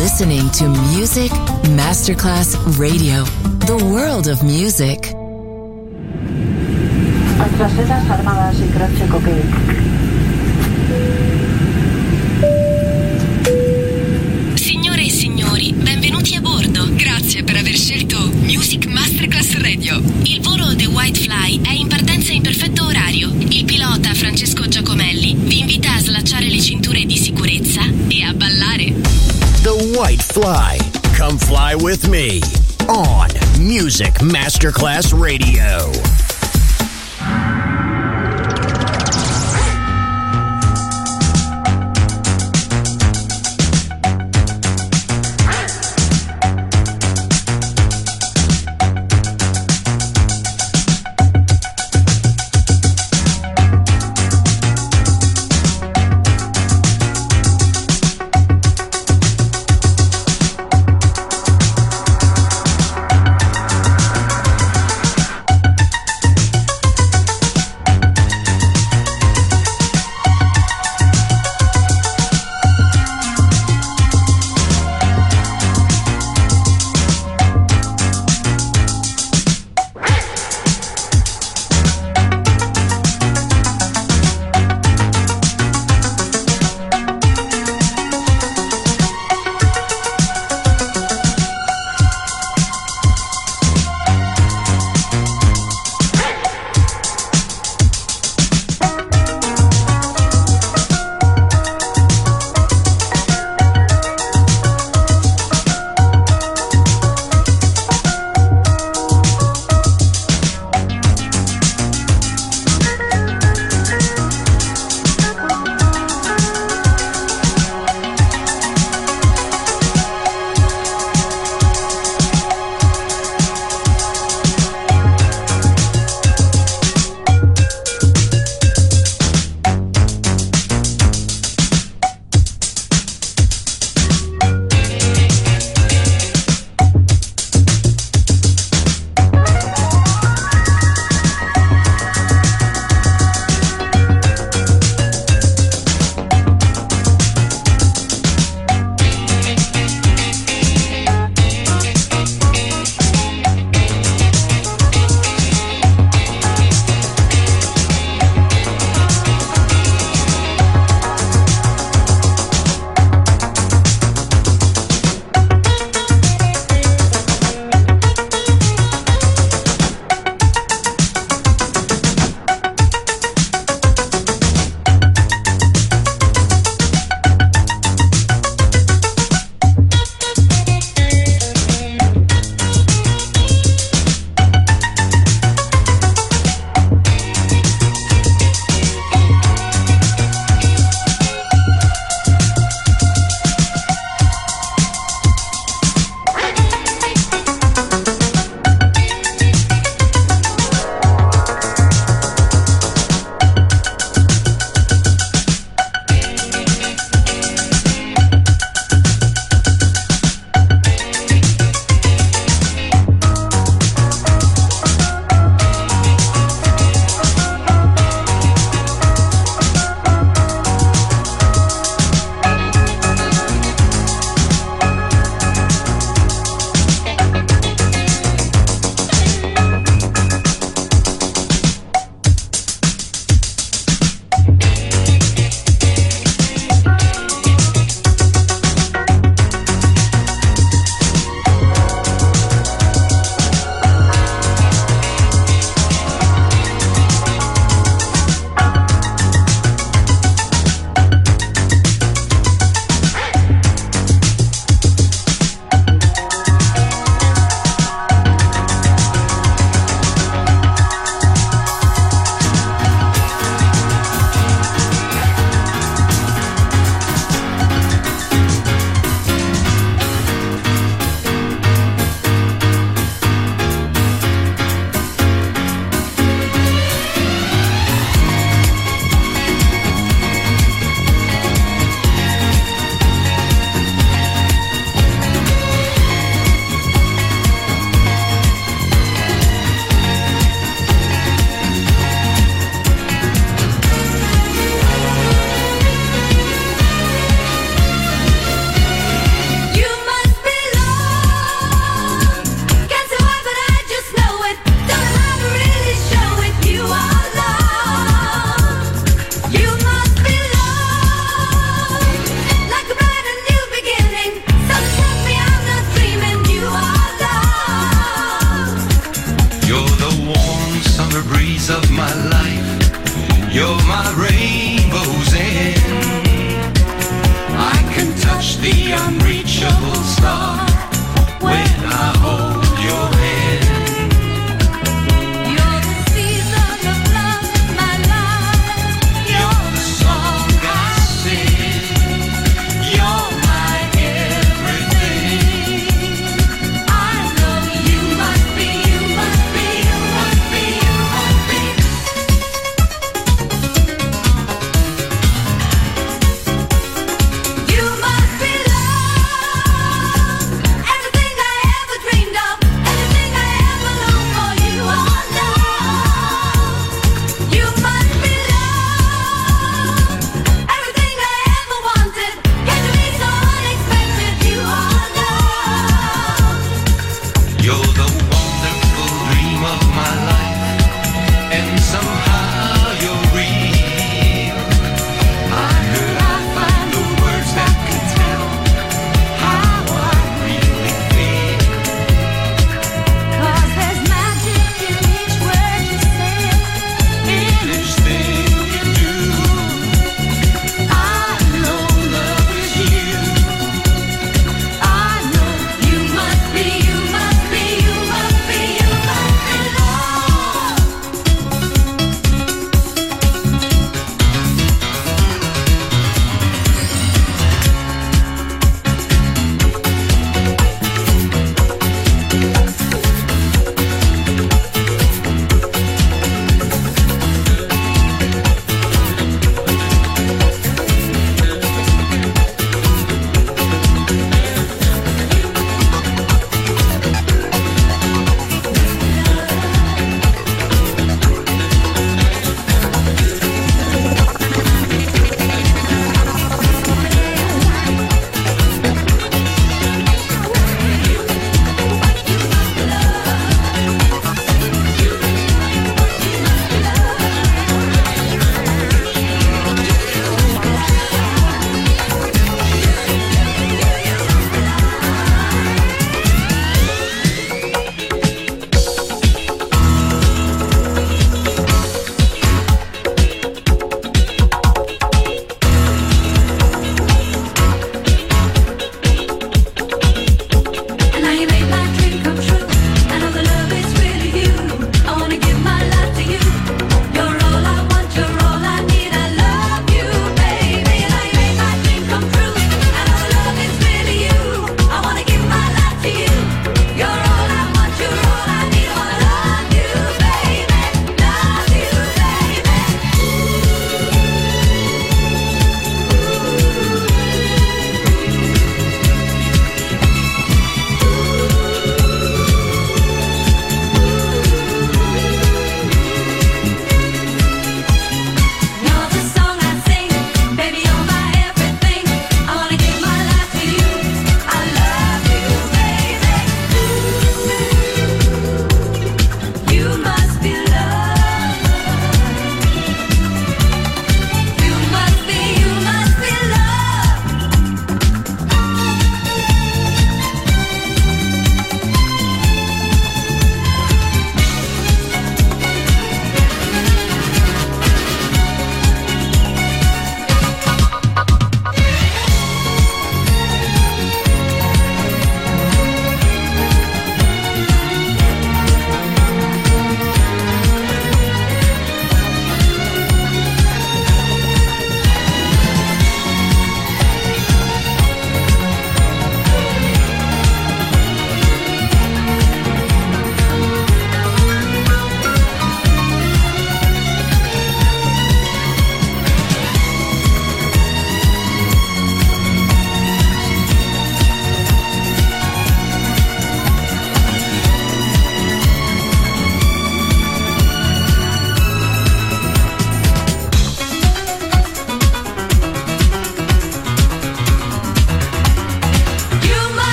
listening to Music Masterclass Radio, the world of music. Nuestras sedas armadas y grazie cocaine. Signore e signori, benvenuti a bordo. Grazie per aver scelto Music Masterclass Radio. Il volo The White Fly è in partenza in perfetto orario. Il pilota Francesco Giacomelli vi invita a slacciare le cinture di sicurezza e a ballare. The White Fly. Come fly with me on Music Masterclass Radio.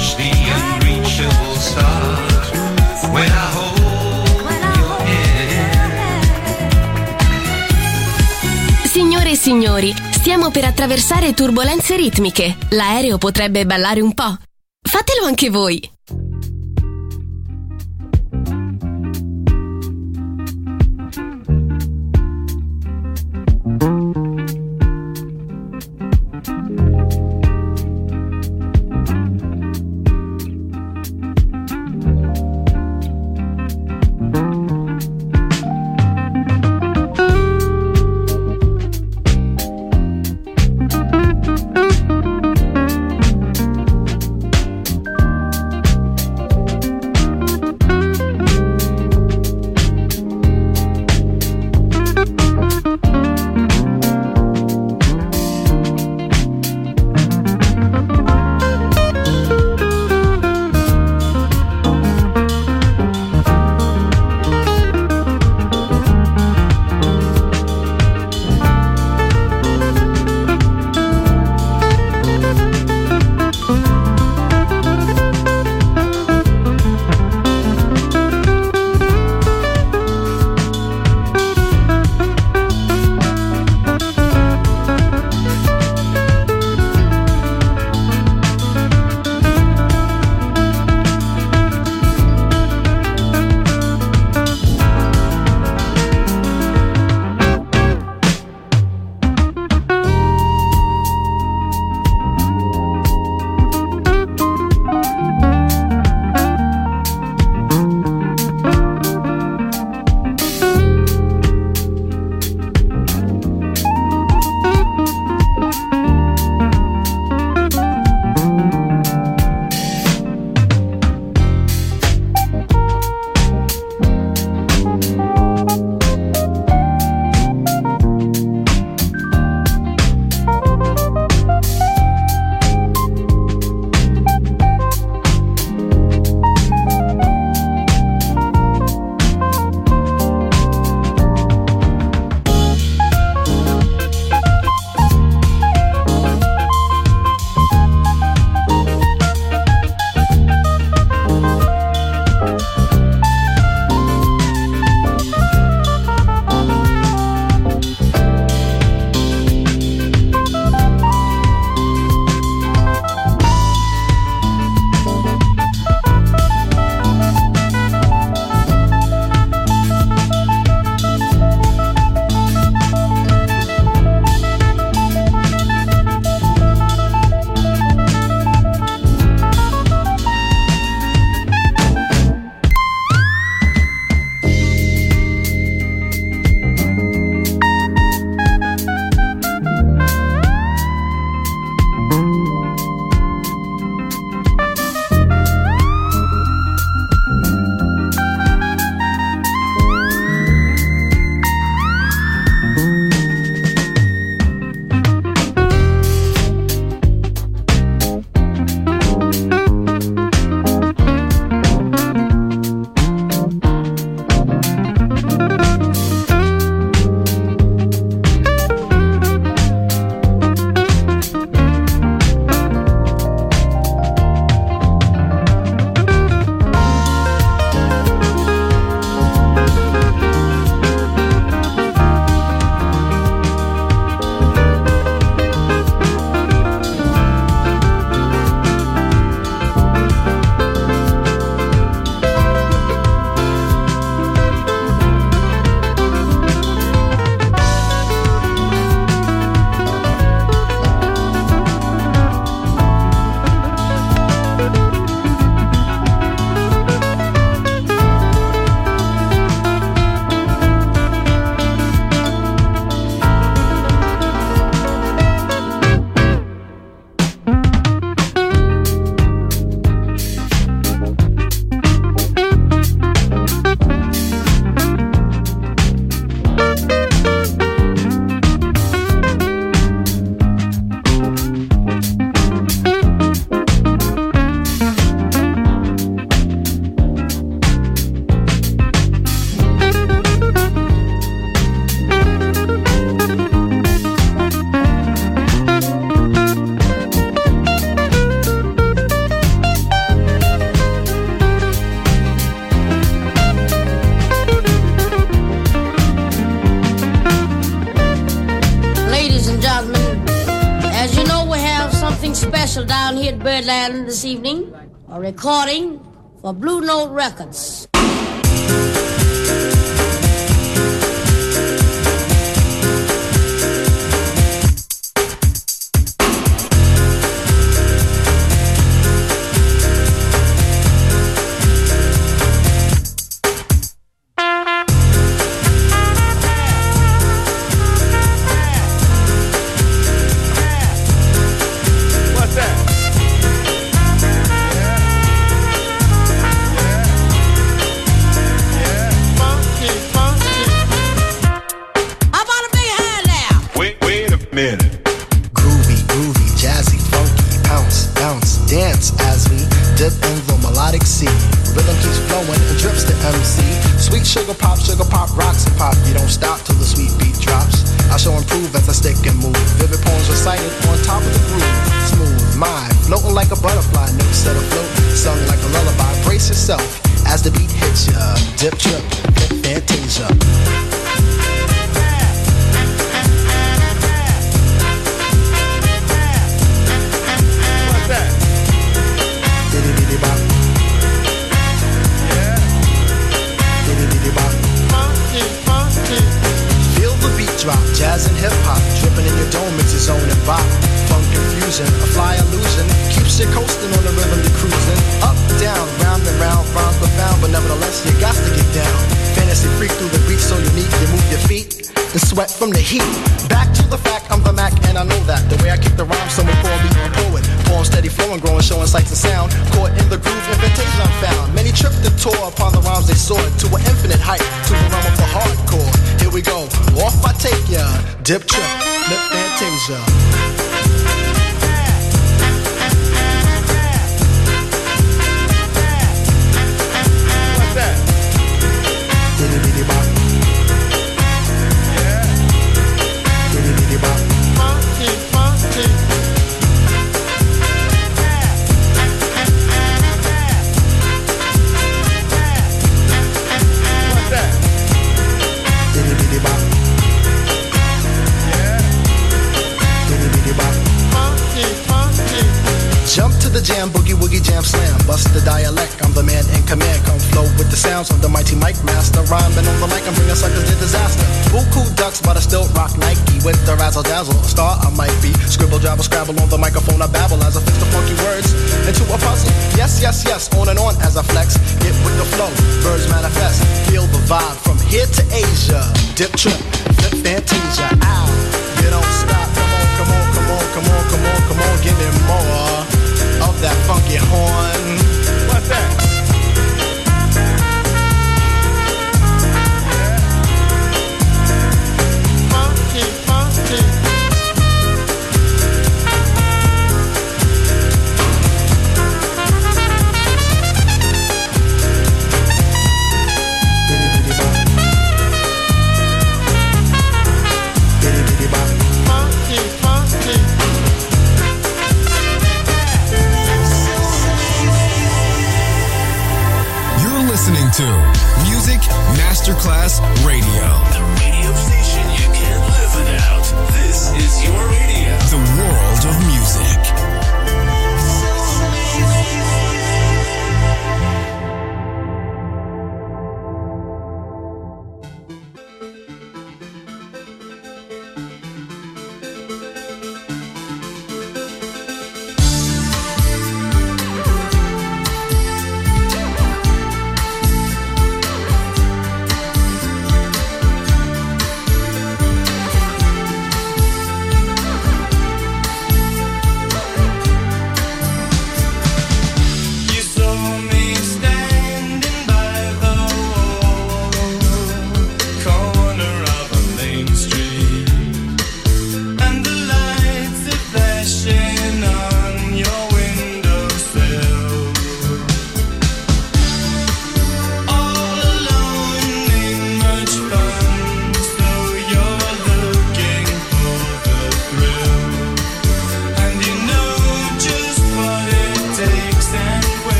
touch the unreachable stars, when I hold your hand. Signore e signori, stiamo per attraversare turbolenze ritmiche. L'aereo potrebbe ballare un po'. Fatelo anche voi. Birdland this evening, a recording for Blue Note Records. Sugar pop, rocks and pop. You don't stop till the sweet beat drops. I shall improve as I stick and move. Vivid poems recited on top of the groove. Smooth mind, floating like a butterfly. Notes set afloat, sung like a lullaby. Brace yourself as the beat hits ya. Dip, trip, hip, fantasia. What's that? Diddy diddy bop. Feel the beat drop, jazz and hip-hop, dripping in your dome makes your zone and bop. Funk confusion, a fly illusion, keeps you coasting on the rhythm you're cruising. Up, down, round and round, rhymes profound, but nevertheless you got to get down. Fantasy freak through the beat so unique, you move your feet and sweat from the heat. Back to the fact, I'm the Mac and I know that. The way I kick the rhyme, someone call me a poet. Poem steady flowing, growing, showing sights and sound. Caught in the groove, invitation I found. Many tripped and tore upon the rhymes they soared to an infinite height, to the realm of the hardcore. Here we go, off I take ya. Dip, trip, lip, fantasia. What's that? Diddy diddy bop. Yeah. Diddy diddy bop. Funky, funky. What's that? Diddy diddy bop. Yeah. Diddy diddy bop. Funky, funky. Jump to the jam, boogie woogie jam slam. Bust the dialect, I'm the man in command. Come flow with the sounds of the mighty mic master. Rhyming on the mic, I'm bringing suckers to disaster. Buku ducks, but I still rock Nike. With the razzle dazzle, a star I might be. Scribble, jabble, scrabble on the microphone, I babble as I fix the funky words into a puzzle. Yes, yes, yes, on and on as I flex. Get with the flow, birds manifest. Feel the vibe from here to Asia. Dip, trip, flip, fantasia. Ow, you don't stop. Come on, come on, come on, come on, come on, come on. Give me more of that funky horn. What's that? Yeah. Funky, funky. Diddy diddy bop. Diddy diddy bop. Funky, funky. Listening to Music Masterclass Radio. The radio station you can't live without. This is your radio. The world of music.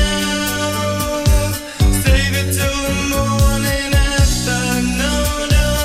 Save it till the morning after. No, no.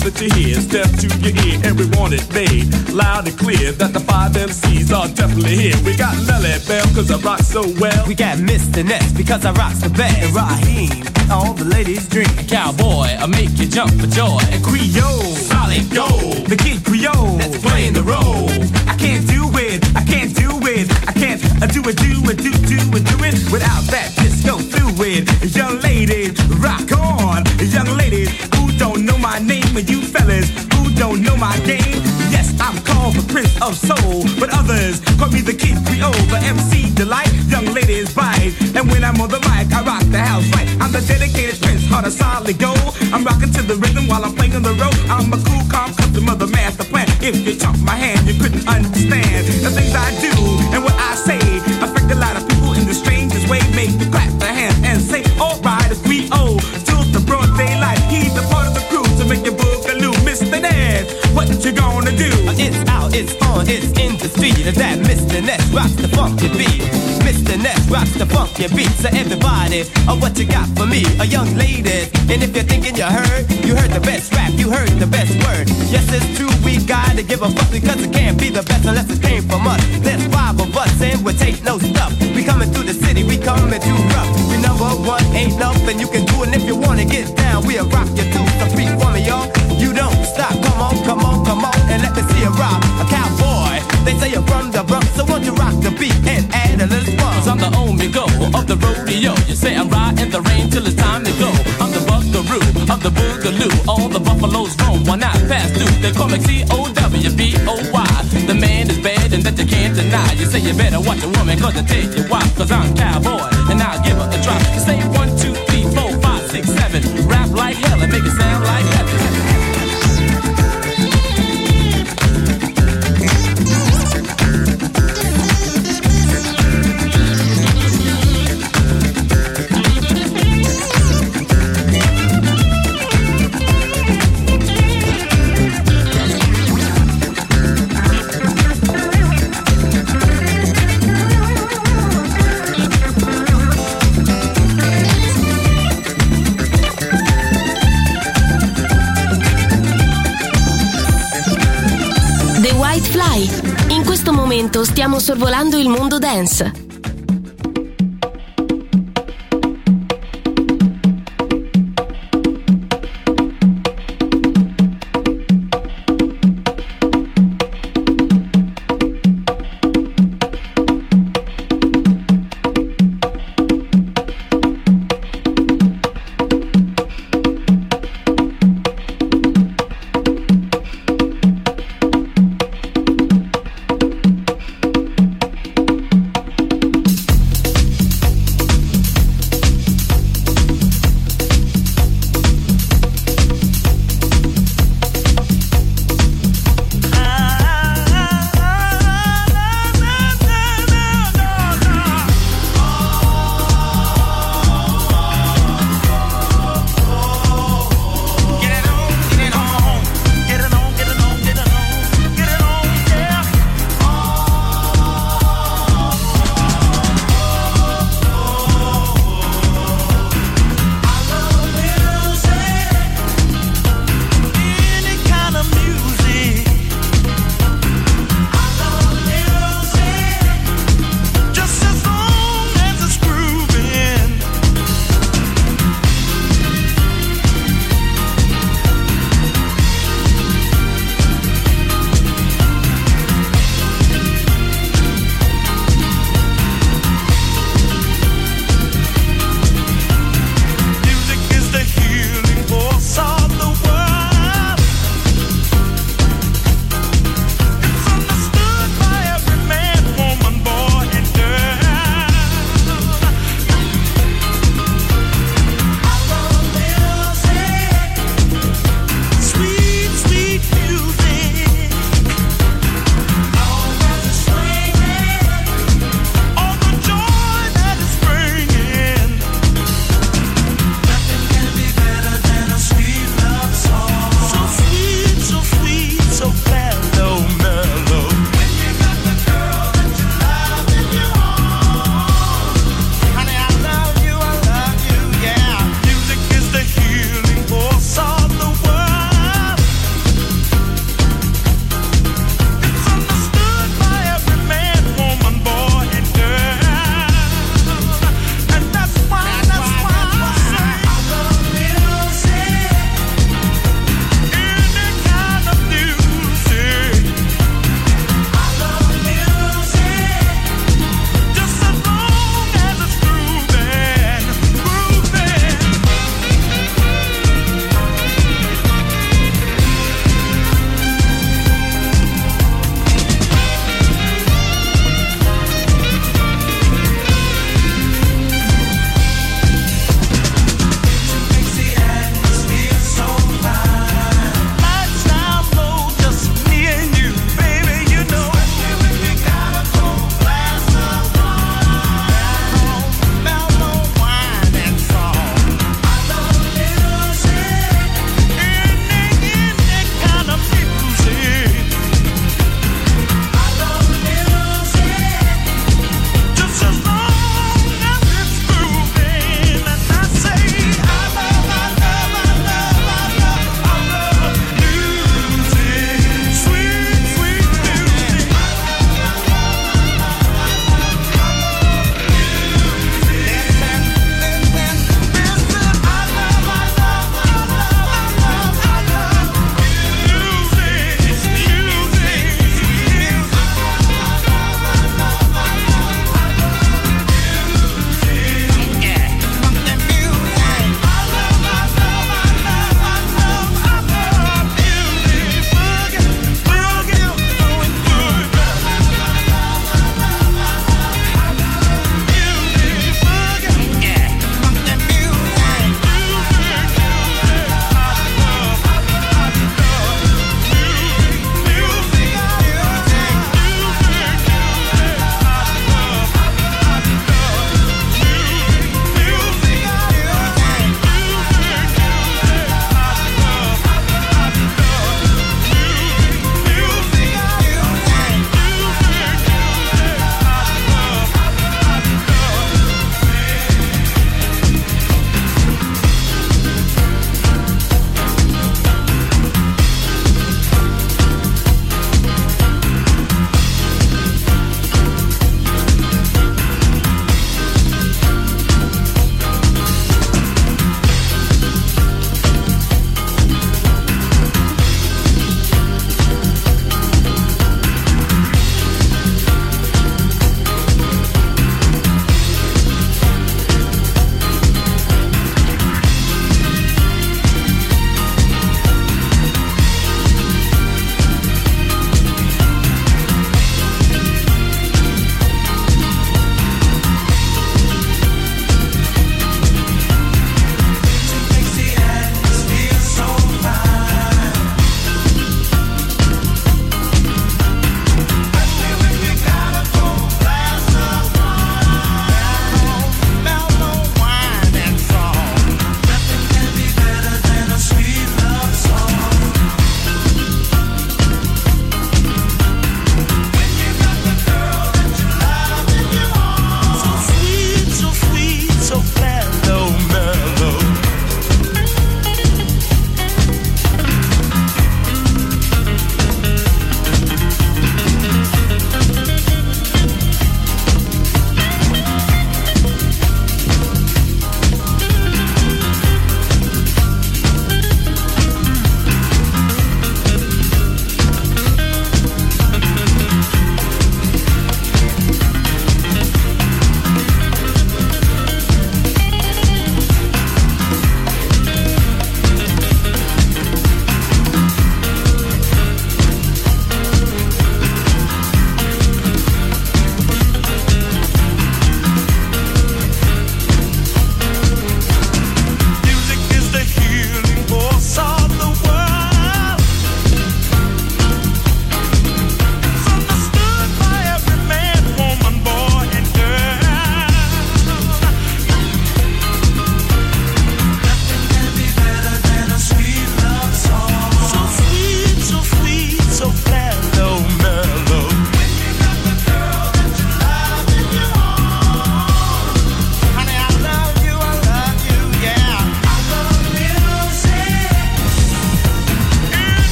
sound that you hear, step to your ear, everyone it made loud and clear that the 5 MCs are definitely here. We got Lily Bell, cause I rock so well. We got Mr. Ness, because I rock the best. And Raheem, all the ladies dream. Cowboy, I make you jump for joy. And Creole, solid gold. The Kid Creole, that's playing the role. I can't do it, I can't do it, I can't do it without that disco fluid. Young ladies, rock on. Young ladies who don't know my name, and you fellas who don't know my game. Yes, I'm called the Prince of Soul, but others call me the Kid Creole, the MC Delight. Young ladies bite, and when I'm on the mic, I rock the house right. I'm the dedicated Prince, heart of solid gold. I'm rocking to the rhythm while I'm playing on the road. I'm a cool, calm customer, the master plan. If you took my hand, you couldn't understand the things I do and what I say. Affect a lot of people in the strangest way. Make you clap their hands and say, alright, it's 3-0 till the broad daylight. He's a part of the crew to make your boogaloo. Mr. Ness, what you gonna do? It's out, it's on, it's in the street. That Mr. Ness rocks the funky beat. Mr. Ness rocks the funky beat. So everybody, what you got for me? A young lady. And if you're thinking you heard the best rap, you heard the best word. Yes, it's true, we gotta give a fuck, because it can't be the best unless it came from us. There's 5 of us and we take no stuff. We coming through the city, we coming too rough. We number one, ain't nothing you can do. And if you wanna get down, we'll rock you too. So freak for me, y'all. You don't stop, come on, come on, come on, and let me see you rock. A cowboy, they say you're from the Bronx, so won't you rock the beat and add a little fun? Cause I'm the Omega of the rodeo. You say I'm riding the rain till it's time to go. I'm the buckaroo of the boogaloo. All the buffaloes roam one out past due. They call me C-O-W-B-O-Y. The man is bad and that you can't deny. You say you better watch a woman, cause I tell you why. Cause I'm cowboy and I'll give her a try. You say 1, 2, 3, 4, 5, 6, 7. Rap like hell and make it sound like heaven. In questo momento stiamo sorvolando il mondo dance.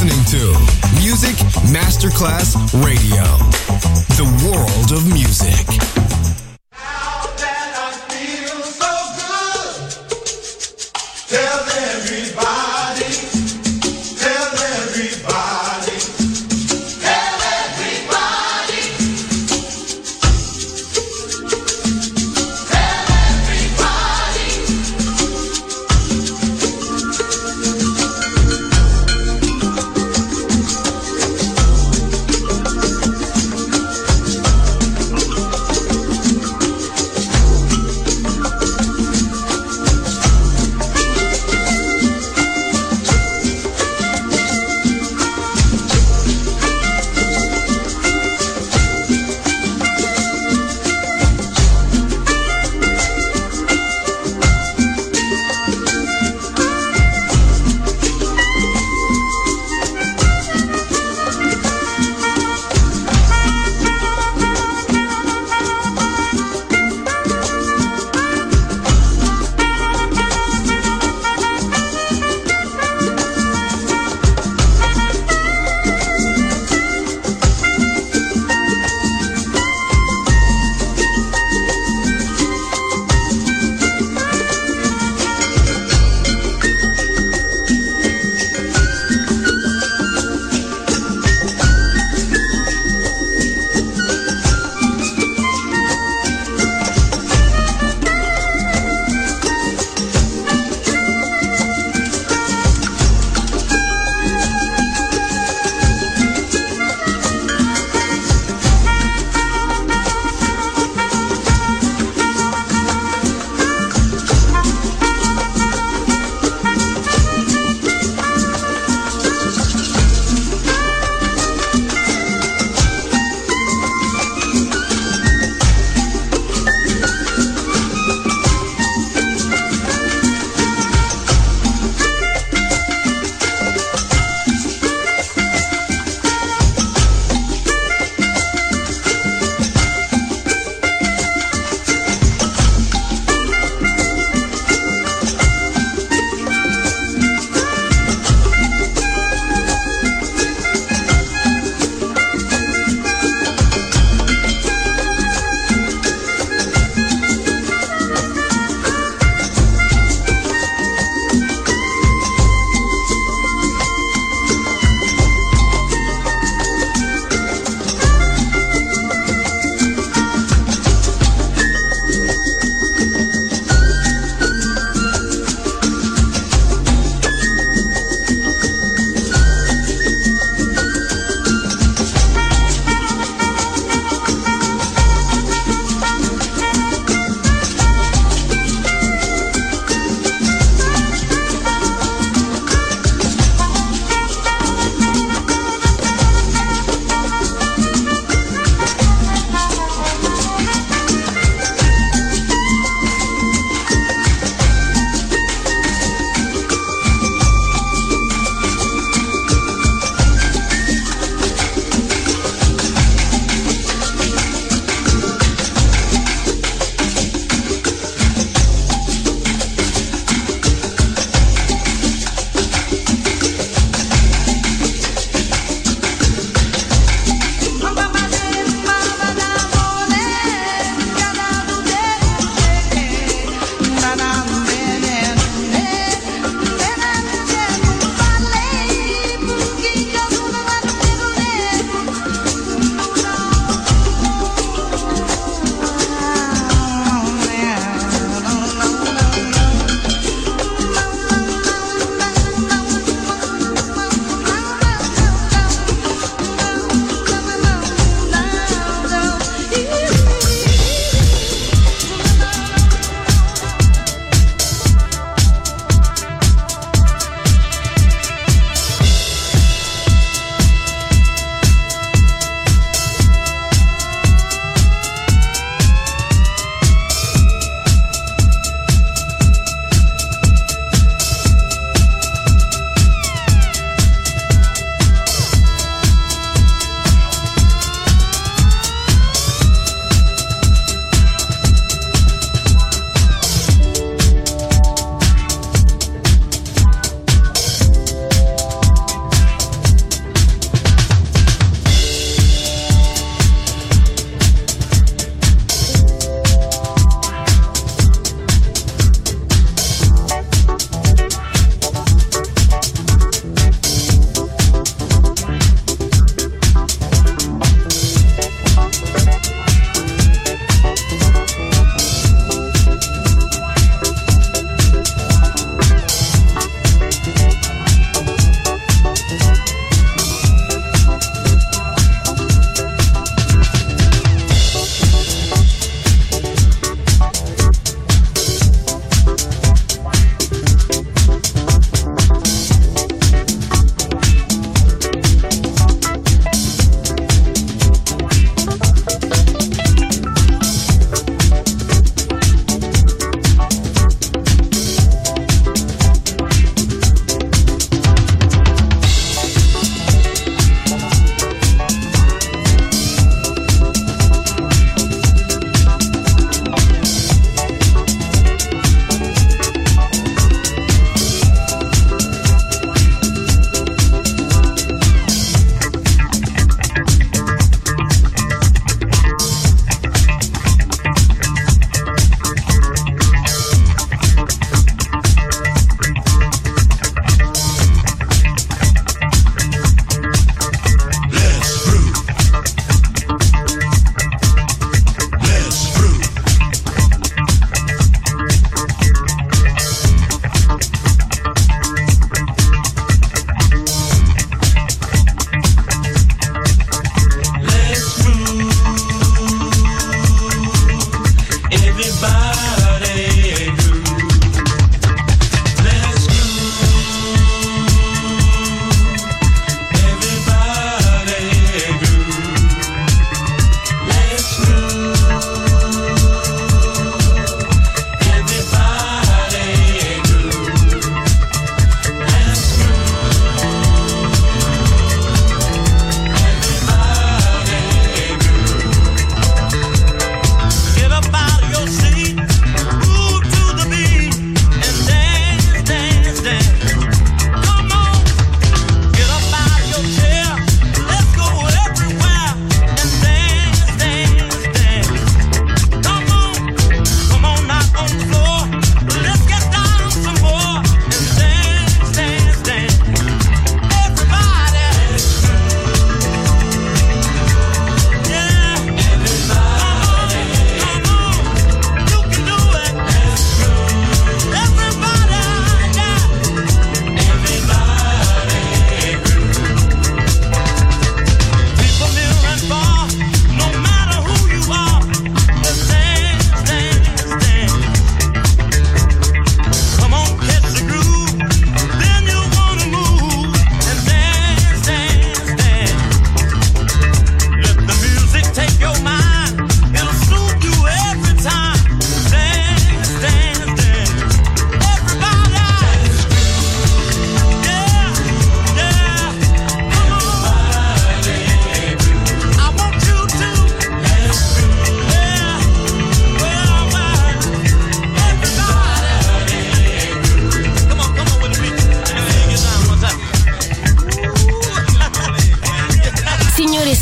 listening to Music Masterclass Radio, the world of music.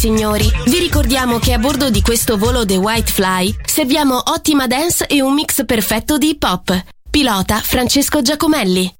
signori, vi ricordiamo che a bordo di questo volo The White Fly serviamo ottima dance e un mix perfetto di hip hop. Pilota Francesco Giacomelli.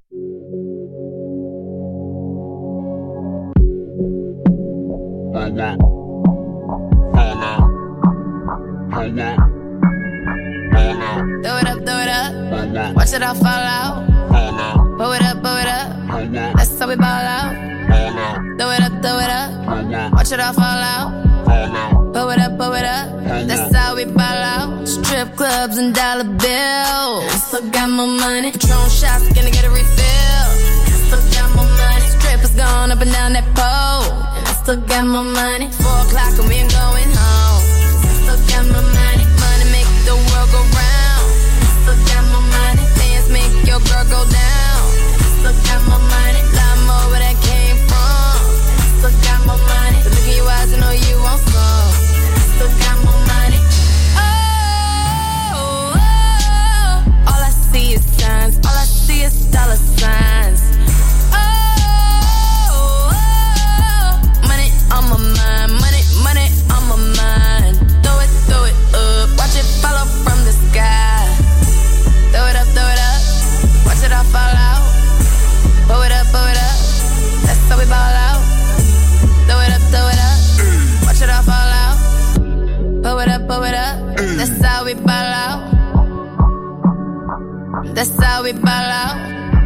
Throw it up, watch it all fall out. Blow it up, that's how we ball out. Throw it up, watch it all fall out. Blow it up, that's how we ball out. Strip clubs and dollar bills. Still got my money. Patron shots, gonna get a refill. Still got my money. Strippers gone up and down that pole. And I still got my money. 4 o'clock and we ain't going home. Still got my money. Money make the world go round. Still got my money. Dance make your girl go down. Still got my money. Lot more where that came from. Still got my money. But look in your eyes, I know you want some. Still got my money. Oh, all I see is signs. All I see is dollar signs. Oh, money on my mind. Money on my mind. Throw it up. Watch it follow from the sky. Throw it up. Watch it all fall out. Blow it up. That's how we ball out. Throw it up. Watch it all fall out. Blow it up. That's how we ball out. That's how we ball out.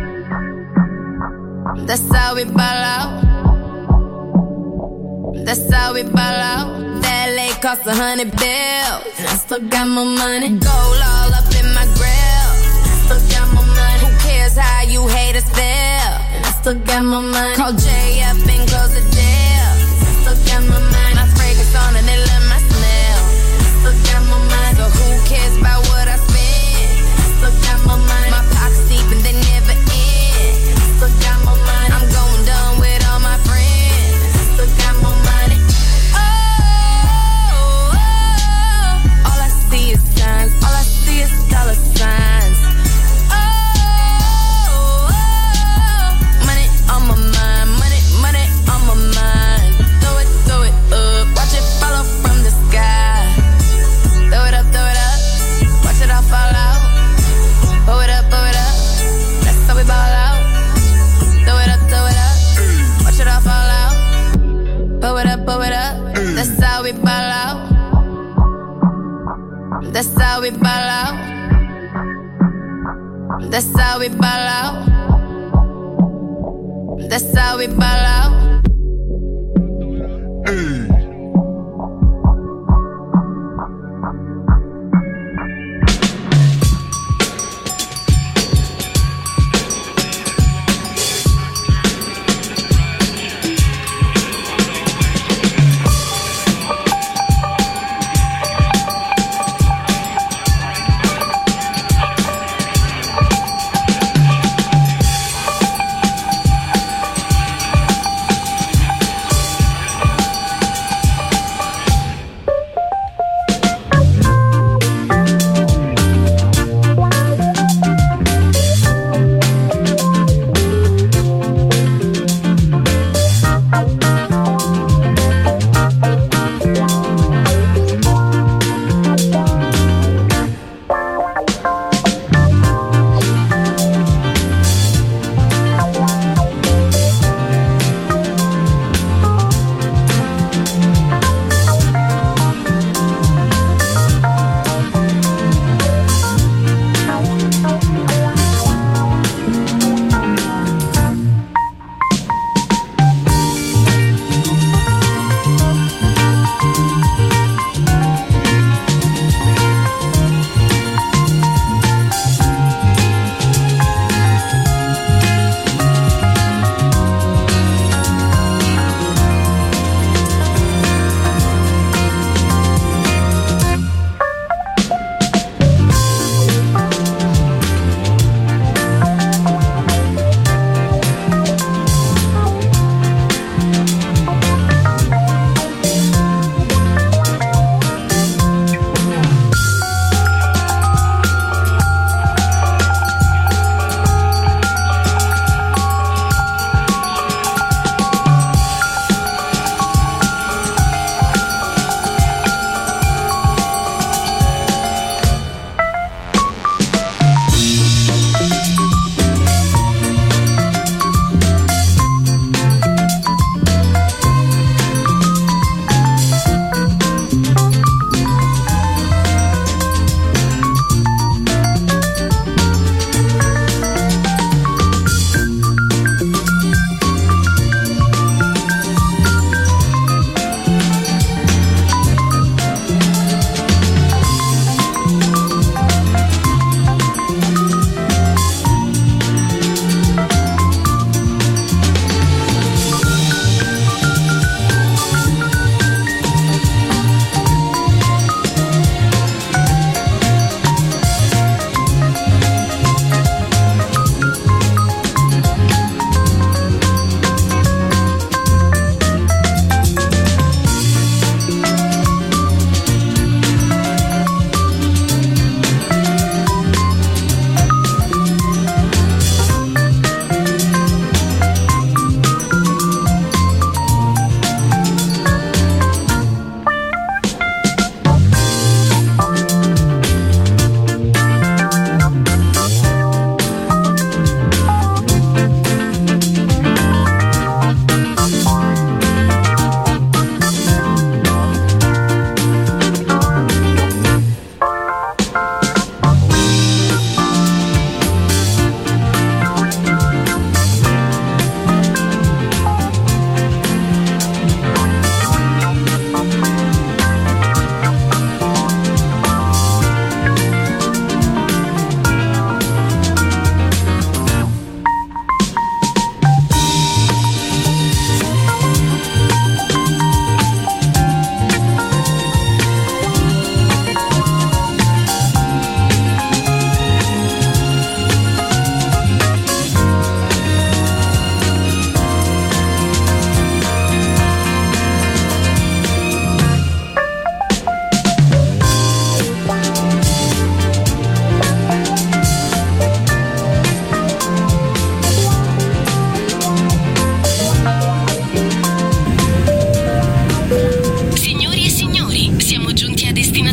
That's how we ball out. That's how we ball out. That lake cost $100 bills. And I still got my money. Gold all up in my grill. Still got my money. Who cares how you haters feel? And I still got my money. Call Jay up and close the deal. Still got my money. My fragrance on and they love my smell. Still got my money. So who cares about what I spend? Still got my money. My pockets deep and they never end. Still got my money. I'm going dumb with all my friends. Still got my money. Oh, all I see is signs. All I see is dollar signs. Oh, money on my mind. Money on my mind. Throw it up. Watch it follow from the sky. Throw it up. Watch it all fall out. Blow it up. That's how we ball out. Throw it up. Watch it all fall out. Blow it up. That's how we ball out. That's how we ball out. That's how we ball out. That's how we ball out.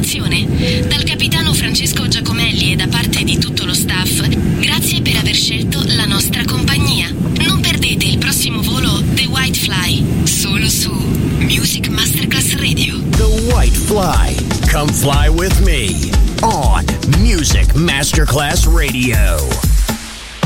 programmazione. Dal capitano Francesco Giacomelli e da parte di tutto lo staff, grazie per aver scelto la nostra compagnia. Non perdete il prossimo volo The White Fly, solo su Music Masterclass Radio. The White Fly. Come fly with me on Music Masterclass Radio.